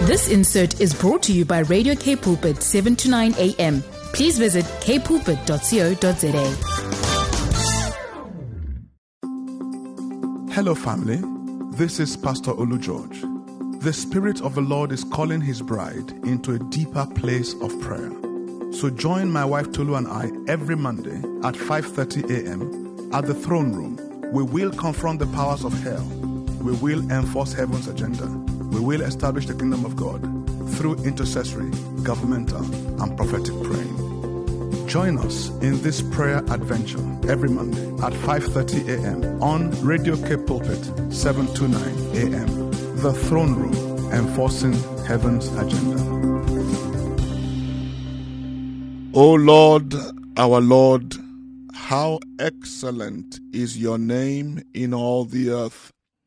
This insert is brought to you by Radio K Pulpit 7 to 9 a.m. Please visit kpulpit.co.za. Hello family, this is Pastor Olu George. The Spirit of the Lord is calling His bride into a deeper place of prayer. So join my wife Tolu and I every Monday at 5:30 a.m. at the throne room. We will confront the powers of hell. We will enforce heaven's agenda. We will establish the kingdom of God through intercessory, governmental, and prophetic praying. Join us in this prayer adventure every Monday at 5:30 a.m. on Radio K Pulpit 729 a.m. The Throne Room, enforcing heaven's agenda. O Lord, our Lord, how excellent is your name in all the earth.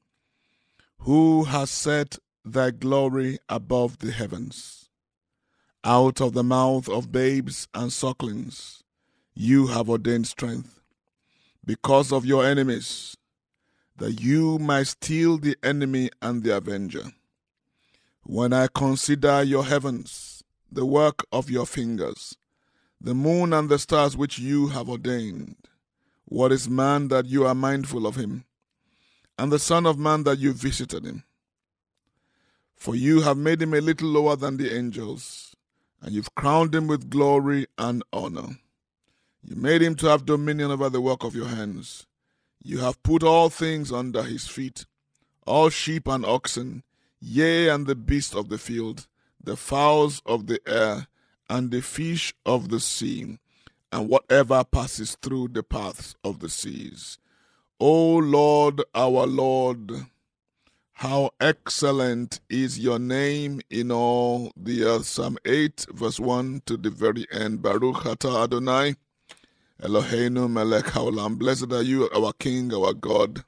Who has set thy glory above the heavens? Out of the mouth of babes and sucklings you have ordained strength, because of your enemies, that you might steal the enemy and the avenger. When I consider your heavens, the work of your fingers, the moon and the stars which you have ordained, what is man that you are mindful of him, and the Son of Man that you visited him? For you have made him a little lower than the angels, and you've crowned him with glory and honor. You made him to have dominion over the work of your hands. You have put all things under his feet, all sheep and oxen, yea, and the beasts of the field, the fowls of the air, and the fish of the sea, and whatever passes through the paths of the seas. O Lord, our Lord, how excellent is your name in all the earth. Psalm 8, verse 1 to the very end. Baruch atah Adonai, Eloheinu melech haolam. Blessed are you, our King, our God,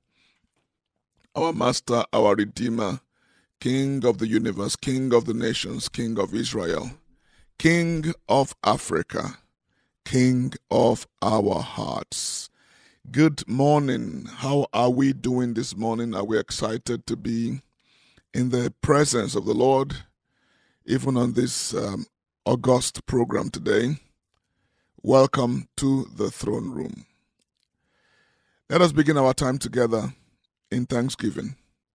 our Master, our Redeemer, King of the universe, King of the nations, King of Israel, King of Africa, King of our hearts. Good morning. How are we doing this morning? Are we excited to be in the presence of the Lord, even on this August program today? Welcome to the throne room. Let us begin our time together in thanksgiving.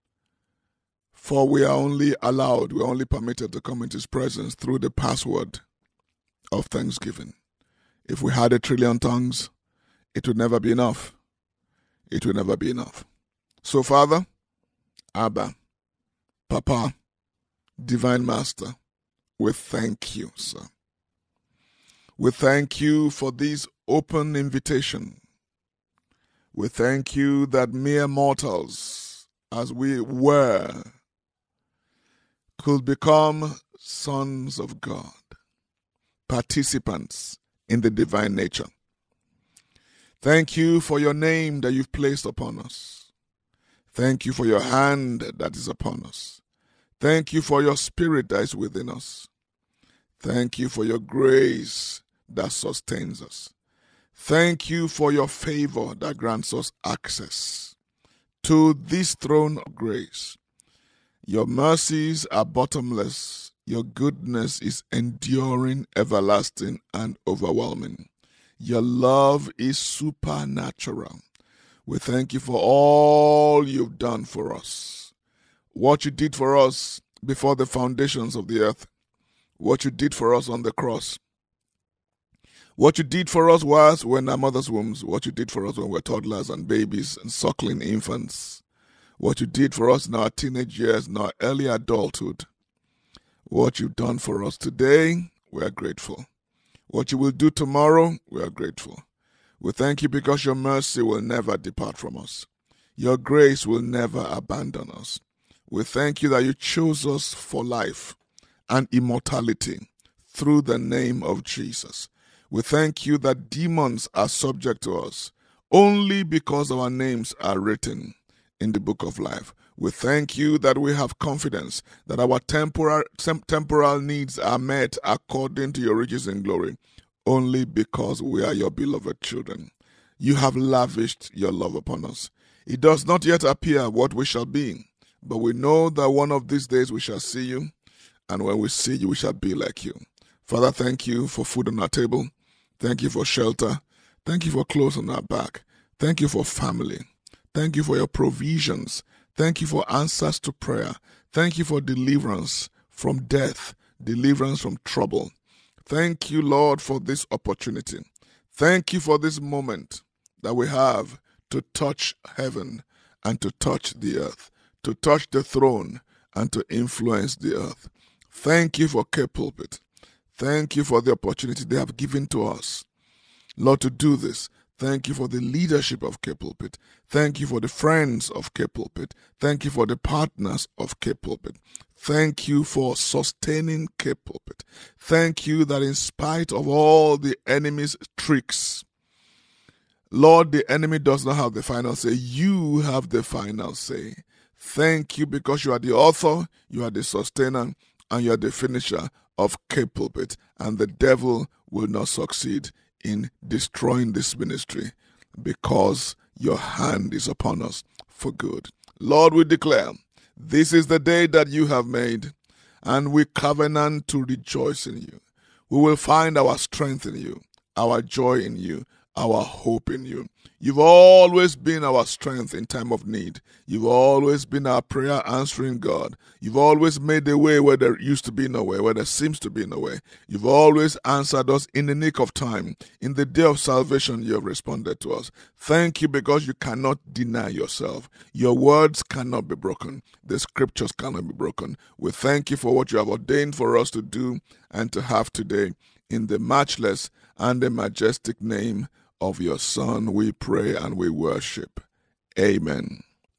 For we are only allowed, we are only permitted to come into His presence through the password of thanksgiving. If we had 1,000,000,000 tongues, it would never be enough. It would never be enough. So, Father, Abba, Papa, Divine Master, we thank you, sir. We thank you for this open invitation. We thank you that mere mortals, as we were, could become sons of God, participants in the divine nature. Thank you for your name that you've placed upon us. Thank you for your hand that is upon us. Thank you for your spirit that is within us. Thank you for your grace that sustains us. Thank you for your favor that grants us access to this throne of grace. Your mercies are bottomless. Your goodness is enduring, everlasting, and overwhelming. Your love is supernatural. We thank you for all you've done for us. What you did for us before the foundations of the earth. What you did for us on the cross. What you did for us whilst we were in our mother's wombs. What you did for us when we were toddlers and babies and suckling infants. What you did for us in our teenage years, in our early adulthood. What you've done for us today, we are grateful. What you will do tomorrow, we are grateful. We thank you because your mercy will never depart from us. Your grace will never abandon us. We thank you that you chose us for life and immortality through the name of Jesus. We thank you that demons are subject to us only because our names are written in the book of life. We thank you that we have confidence that our temporal needs are met according to your riches and glory, only because we are your beloved children. You have lavished your love upon us. It does not yet appear what we shall be, but we know that one of these days we shall see you, And when we see you, we shall be like you. Father, thank you for food on our table. Thank you for shelter. Thank you for clothes on our back. Thank you for family. Thank you for your provisions. Thank you for answers to prayer. Thank you for deliverance from death, deliverance from trouble. Thank you, Lord, for this opportunity. Thank you for this moment that we have to touch heaven and to touch the earth, to touch the throne and to influence the earth. Thank you for Cape Pulpit. Thank you for the opportunity they have given to us, Lord, to do this. Thank you for the leadership of Cape Pulpit. Thank you for the friends of Cape Pulpit. Thank you for the partners of Cape Pulpit. Thank you for sustaining Cape Pulpit. Thank you that in spite of all the enemy's tricks, Lord, the enemy does not have the final say. You have the final say. Thank you because you are the author, you are the sustainer, and you are the finisher of Cape Pulpit. And the devil will not succeed in destroying this ministry because your hand is upon us for good. Lord, we declare, this is the day that you have made, and we covenant to rejoice in you. We will find our strength in you, our joy in you, our hope in you. You've always been our strength in time of need. You've always been our prayer answering God. You've always made a way where there used to be no way, where there seems to be no way. You've always answered us in the nick of time. In the day of salvation, you have responded to us. Thank you because you cannot deny yourself. Your words cannot be broken. The scriptures cannot be broken. We thank you for what you have ordained for us to do and to have today. In the matchless and the majestic name of your Son, we pray and we worship. Amen.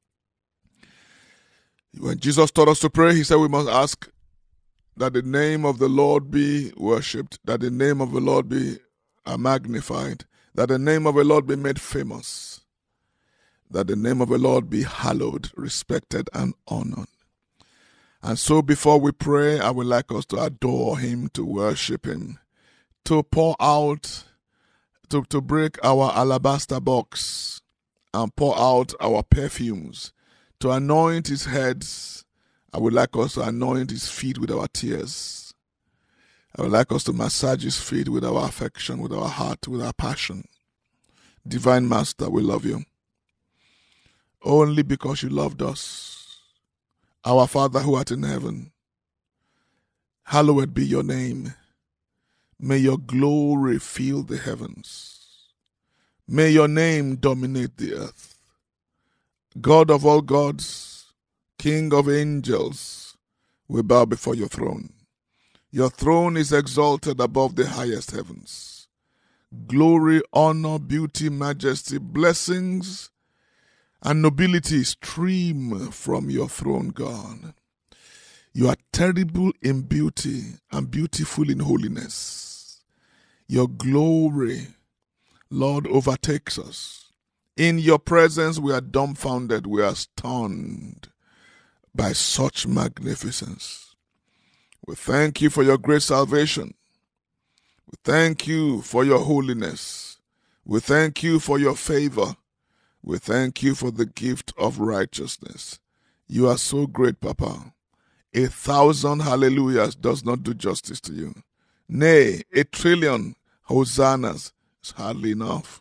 When Jesus taught us to pray, he said we must ask that the name of the Lord be worshipped, that the name of the Lord be magnified, that the name of the Lord be made famous, that the name of the Lord be hallowed, respected, and honored. And so before we pray, I would like us to adore him, to worship him, to pour out, to break our alabaster box and pour out our perfumes, to anoint his heads. I would like us to anoint his feet with our tears. I would like us to massage his feet with our affection, with our heart, with our passion. Divine Master, we love you. Only because you loved us. Our Father who art in heaven, hallowed be your name. May your glory fill the heavens. May your name dominate the earth. God of all gods, King of angels, we bow before your throne. Your throne is exalted above the highest heavens. Glory, honor, beauty, majesty, blessings, and nobility stream from your throne, God. You are terrible in beauty and beautiful in holiness. Your glory, Lord, overtakes us. In your presence we are dumbfounded, we are stunned by such magnificence. We thank you for your great salvation. We thank you for your holiness. We thank you for your favor. We thank you for the gift of righteousness. You are so great, Papa. 1,000 hallelujahs does not do justice to you. Nay, 1 trillion hosannas is hardly enough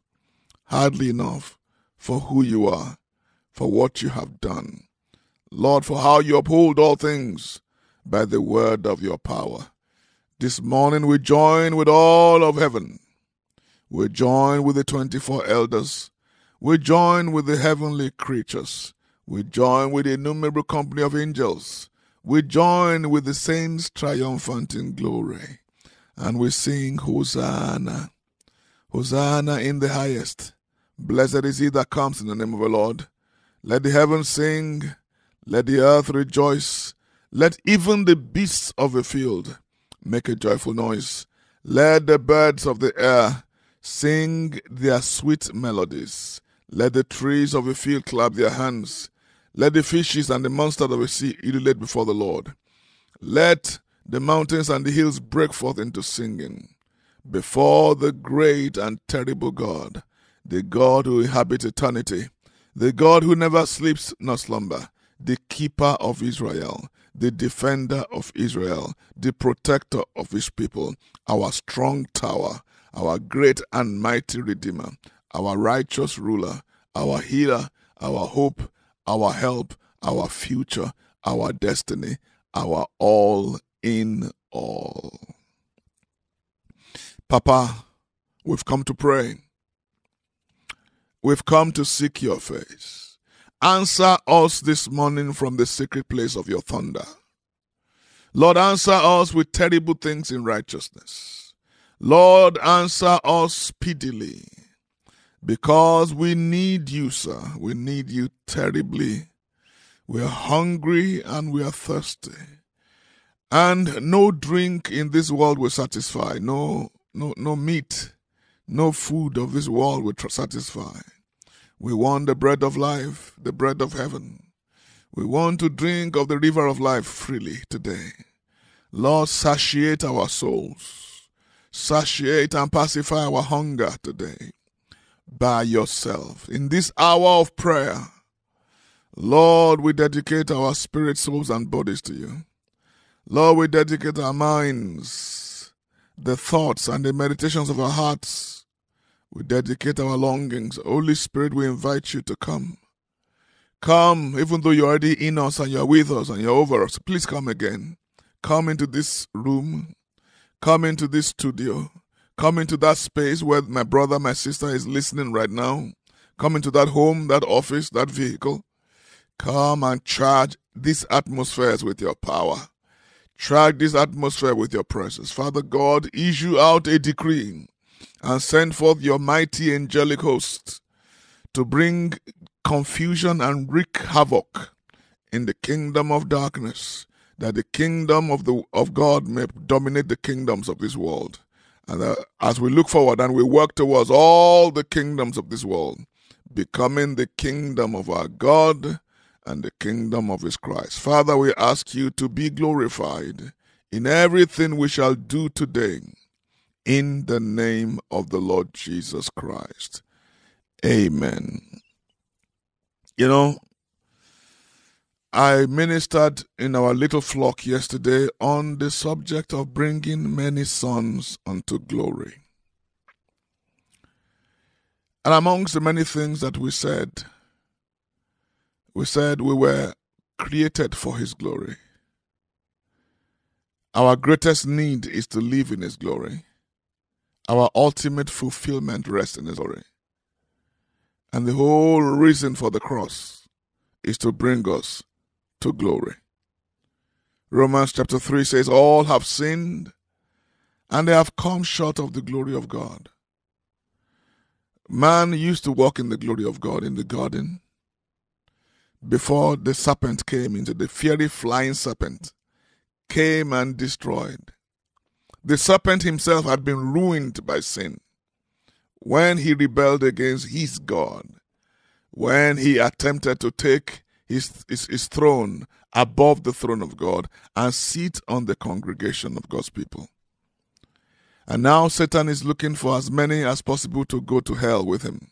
for who you are, for what you have done. Lord, for how you uphold all things by the word of your power. This morning we join with all of heaven. We join with the 24 elders. We join with the heavenly creatures. We join with the innumerable company of angels. We join with the saints triumphant in glory. And we sing Hosanna. Hosanna in the highest. Blessed is he that comes in the name of the Lord. Let the heavens sing. Let the earth rejoice. Let even the beasts of the field make a joyful noise. Let the birds of the air sing their sweet melodies. Let the trees of the field clap their hands. Let the fishes and the monsters of the sea ululate before the Lord. Let the mountains and the hills break forth into singing before the great and terrible God, the God who inhabits eternity, the God who never sleeps nor slumber, the keeper of Israel, the defender of Israel, the protector of his people, our strong tower, our great and mighty Redeemer, our righteous ruler, our healer, our hope, our help, our future, our destiny, our all in all. Papa, we've come to pray. We've come to seek your face. Answer us this morning from the secret place of your thunder. Lord, answer us with terrible things in righteousness. Lord, answer us speedily, because we need you, sir. We need you terribly. We are hungry and we are thirsty. And no drink in this world will satisfy. No meat, no food of this world will satisfy. We want the bread of life, the bread of heaven. We want to drink of the river of life freely today. Lord, satiate our souls. Satiate and pacify our hunger today by yourself. In this hour of prayer, Lord, we dedicate our spirits, souls, and bodies to you. Lord, we dedicate our minds, the thoughts and the meditations of our hearts. We dedicate our longings. Holy Spirit, we invite you to come. Come, even though you're already in us and you're with us and you're over us. Please come again. Come into this room. Come into this studio. Come into that space where my brother, my sister is listening right now. Come into that home, that office, that vehicle. Come and charge these atmospheres with your power. Charge this atmosphere with your presence. Father God, issue out a decree and send forth your mighty angelic host to bring confusion and wreak havoc in the kingdom of darkness, that the kingdom of God may dominate the kingdoms of this world. And as we look forward and we work towards all the kingdoms of this world, becoming the kingdom of our God and the kingdom of his Christ. Father, we ask you to be glorified in everything we shall do today, in the name of the Lord Jesus Christ. Amen. You know, I ministered in our little flock yesterday on the subject of bringing many sons unto glory. And amongst the many things that we said we were created for his glory. Our greatest need is to live in his glory. Our ultimate fulfillment rests in his glory. And the whole reason for the cross is to bring us to glory. Romans chapter 3 says, all have sinned and they have come short of the glory of God. Man used to walk in the glory of God in the garden before the serpent came into the fiery flying serpent came and destroyed. The serpent himself had been ruined by sin when he rebelled against his God, when he attempted to take his throne above the throne of God and sit on the congregation of God's people. And now Satan is looking for as many as possible to go to hell with him.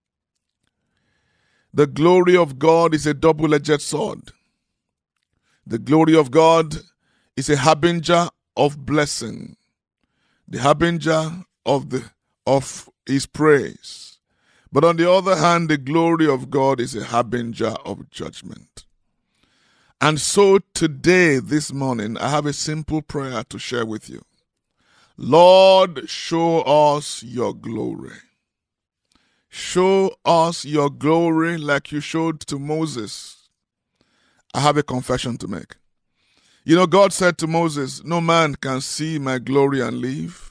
The glory of God is a double-edged sword. The glory of God is a harbinger of blessing, the harbinger of his praise. But on the other hand, the glory of God is a harbinger of judgment. And so today, this morning, I have a simple prayer to share with you. Lord, show us your glory. Show us your glory like you showed to Moses. I have a confession to make. You know, God said to Moses, no man can see my glory and live.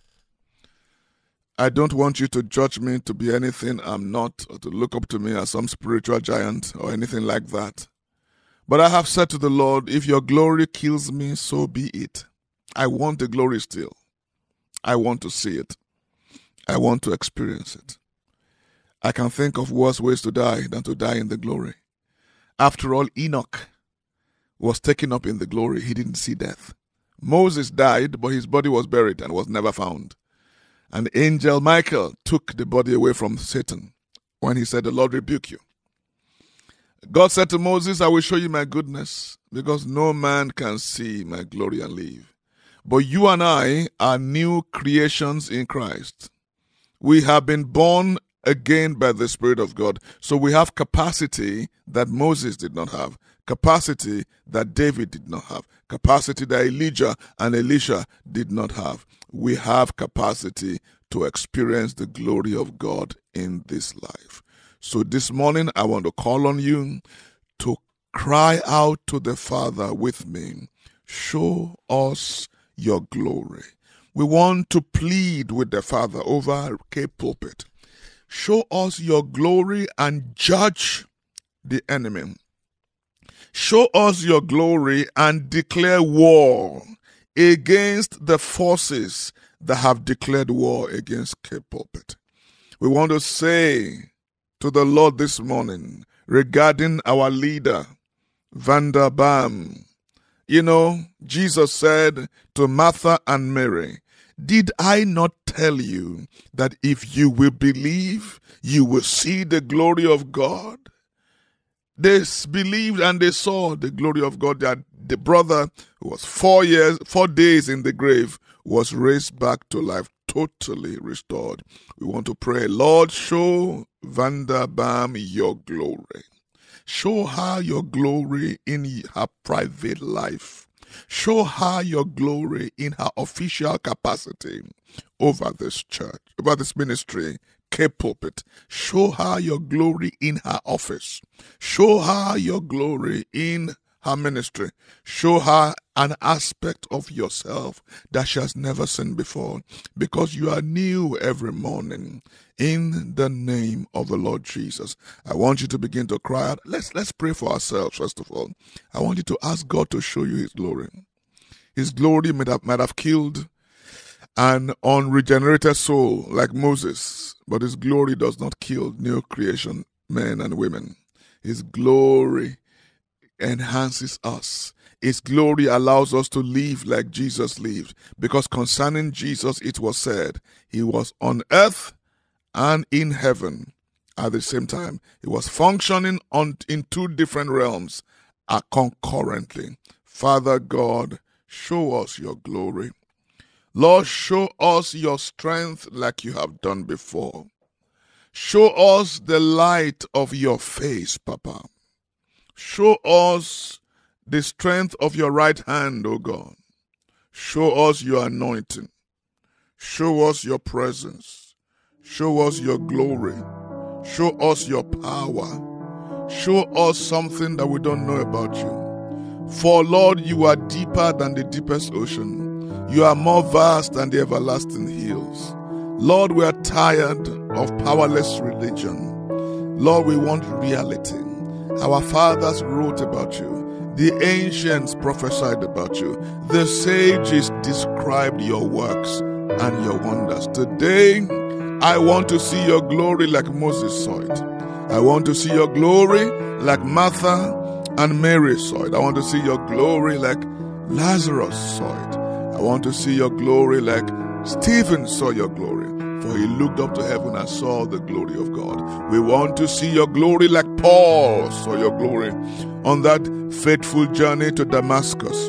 I don't want you to judge me to be anything I'm not, or to look up to me as some spiritual giant or anything like that. But I have said to the Lord, if your glory kills me, so be it. I want the glory still. I want to see it. I want to experience it. I can think of worse ways to die than to die in the glory. After all, Enoch was taken up in the glory. He didn't see death. Moses died, but his body was buried and was never found. And angel Michael took the body away from Satan when he said, the Lord rebuke you. God said to Moses, I will show you my goodness, because no man can see my glory and live. But you and I are new creations in Christ. We have been born again by the Spirit of God. So we have capacity that Moses did not have, capacity that David did not have, capacity that Elijah and Elisha did not have. We have capacity to experience the glory of God in this life. So this morning, I want to call on you to cry out to the Father with me. Show us your glory. We want to plead with the Father over Cape Pulpit. Show us your glory and judge the enemy. Show us your glory and declare war against the forces that have declared war against Cape Pulpit. We want to say to the Lord this morning regarding our leader, Vanda Bam. Jesus said to Martha and Mary, did I not tell you that if you will believe, you will see the glory of God? They believed and they saw the glory of God. That the brother who was 4 days in the grave was raised back to life, totally restored. We want to pray, Lord, show Vanda Bam your glory. Show her your glory in her private life. Show her your glory in her official capacity over this church, over this ministry, Cape Pulpit. Show her your glory in her office. Show her your glory in her ministry. Show her an aspect of yourself that she has never seen before, because you are new every morning. In the name of the Lord Jesus, I want you to begin to cry out. Let's pray for ourselves first of all. I want you to ask God to show you His glory. His glory might have killed an unregenerated soul like Moses, but His glory does not kill new creation men and women. His glory enhances us. His glory allows us to live like Jesus lived, because concerning Jesus it was said, He was on earth and in heaven at the same time. He was functioning in two different realms concurrently. Father God, show us your glory. Lord, show us your strength like you have done before. Show us the light of your face, Papa. Show us the strength of your right hand, O God. Show us your anointing. Show us your presence. Show us your glory. Show us your power. Show us something that we don't know about you. For Lord, you are deeper than the deepest ocean. You are more vast than the everlasting hills. Lord, we are tired of powerless religion. Lord, we want reality. Our fathers wrote about you. The ancients prophesied about you. The sages described your works and your wonders. Today, I want to see your glory like Moses saw it. I want to see your glory like Martha and Mary saw it. I want to see your glory like Lazarus saw it. I want to see your glory like Stephen saw your glory, for he looked up to heaven and saw the glory of God. We want to see your glory like Paul saw your glory on that faithful journey to Damascus.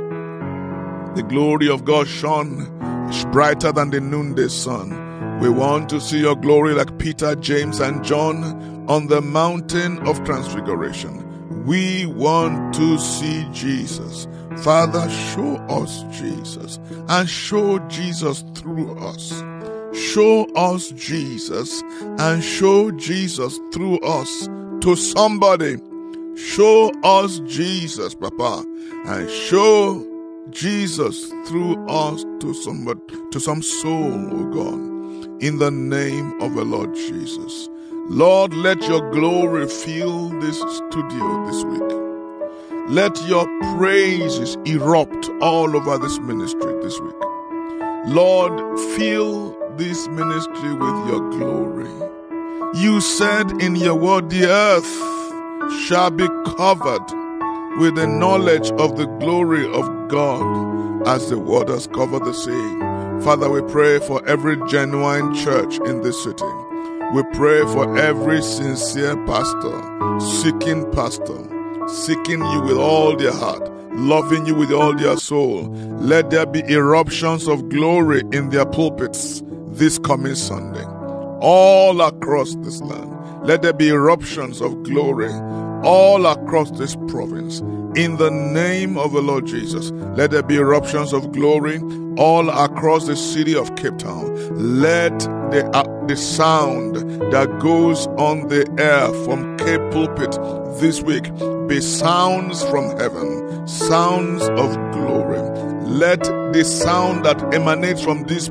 The glory of God shone brighter than the noonday sun. We want to see your glory like Peter, James, and John on the mountain of transfiguration. We want to see Jesus. Father, show us Jesus and show Jesus through us. Show us Jesus and show Jesus through us to somebody. Show us Jesus, Papa, and show Jesus through us to somebody, to some soul, oh God. In the name of the Lord Jesus. Lord, let your glory fill this studio this week. Let your praises erupt all over this ministry this week. Lord, fill this ministry with your glory. You said in your word, the earth shall be covered with the knowledge of the glory of God as the waters cover the sea. Father, we pray for every genuine church in this city. We pray for every sincere pastor seeking pastor, seeking you with all their heart, loving you with all their soul. Let there be eruptions of glory in their pulpits this coming Sunday. All across this land, let there be eruptions of glory all across this province. In the name of the Lord Jesus, let there be eruptions of glory all across the city of Cape Town. Let the sound that goes on the air from Cape Pulpit this week be sounds from heaven, sounds of glory. Let the sound that emanates from this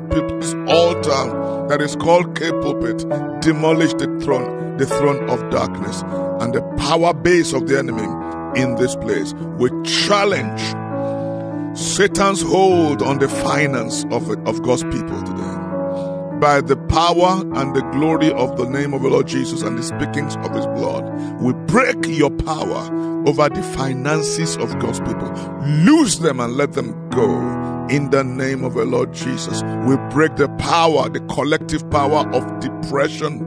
altar that is called Cape Pulpit demolish the throne of darkness and the power base of the enemy in this place. We challenge Satan's hold on the finance of God's people today. By the power and the glory of the name of the Lord Jesus and the speakings of his blood, we break your power over the finances of God's people. Loose them and let them go. In the name of the Lord Jesus, we break the power, the collective power of depression.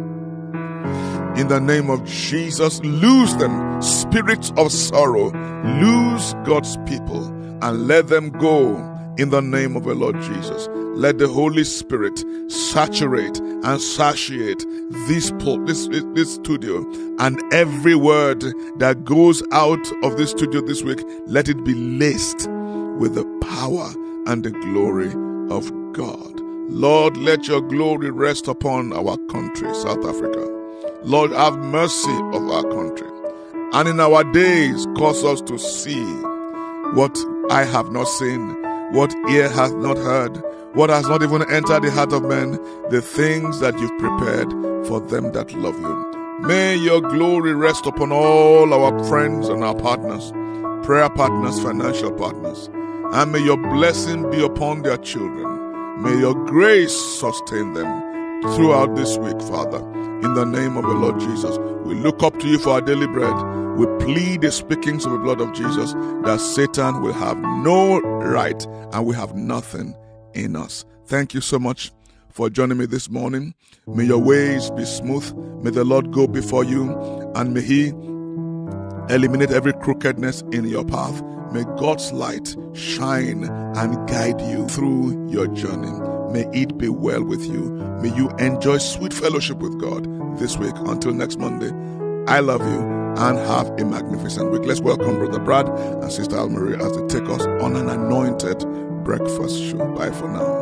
In the name of Jesus, loose them, spirits of sorrow, loose God's people and let them go. In the name of the Lord Jesus, let the Holy Spirit saturate and satiate this studio, and every word that goes out of this studio this week, let it be laced with the power and the glory of God. Lord, let your glory rest upon our country, South Africa. Lord, have mercy of our country, and in our days cause us to see what eye have not seen, what ear hath not heard, what has not even entered the heart of man, the things that you've prepared for them that love you. May your glory rest upon all our friends and our partners, prayer partners, financial partners, and may your blessing be upon their children. May your grace sustain them throughout this week, Father. In the name of the Lord Jesus, we look up to you for our daily bread. We plead the speakings of the blood of Jesus that Satan will have no right and we have nothing in us. Thank you so much for joining me this morning. May your ways be smooth. May the Lord go before you, and may he eliminate every crookedness in your path. May God's light shine and guide you through your journey. May it be well with you. May you enjoy sweet fellowship with God this week. Until next Monday, I love you and have a magnificent week. Let's welcome Brother Brad and Sister Almarie as they take us on an anointed breakfast show. Bye for now.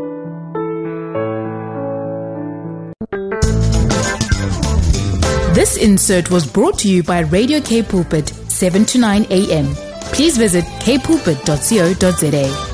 This insert was brought to you by Radio K Pulpit, 7 to 9 a.m. Please visit kpulpit.co.za.